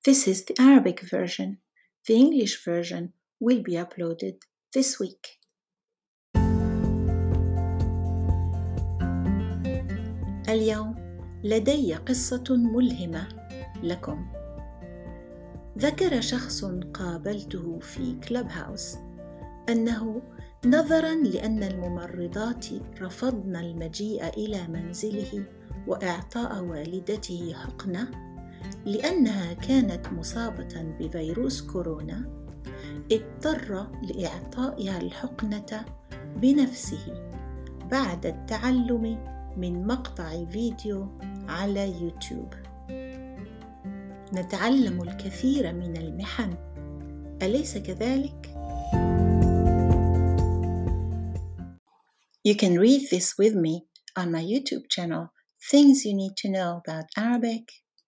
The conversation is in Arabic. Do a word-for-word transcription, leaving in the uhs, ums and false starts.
This is the Arabic version. The English version will be uploaded this week. اليوم لدي قصة ملهمة لكم. ذكر شخص قابلته في كلوب هاوس أنه نظراً لأن الممرضات رفضن المجيء إلى منزله وإعطاء والدته حقنة لأنها كانت مصابة بفيروس كورونا، اضطر لإعطائها الحقنة بنفسه بعد التعلم من مقطع فيديو على يوتيوب. نتعلم الكثير من المحن، أليس كذلك؟ You can read this with me on my YouTube channel, Things You Need to Know About Arabic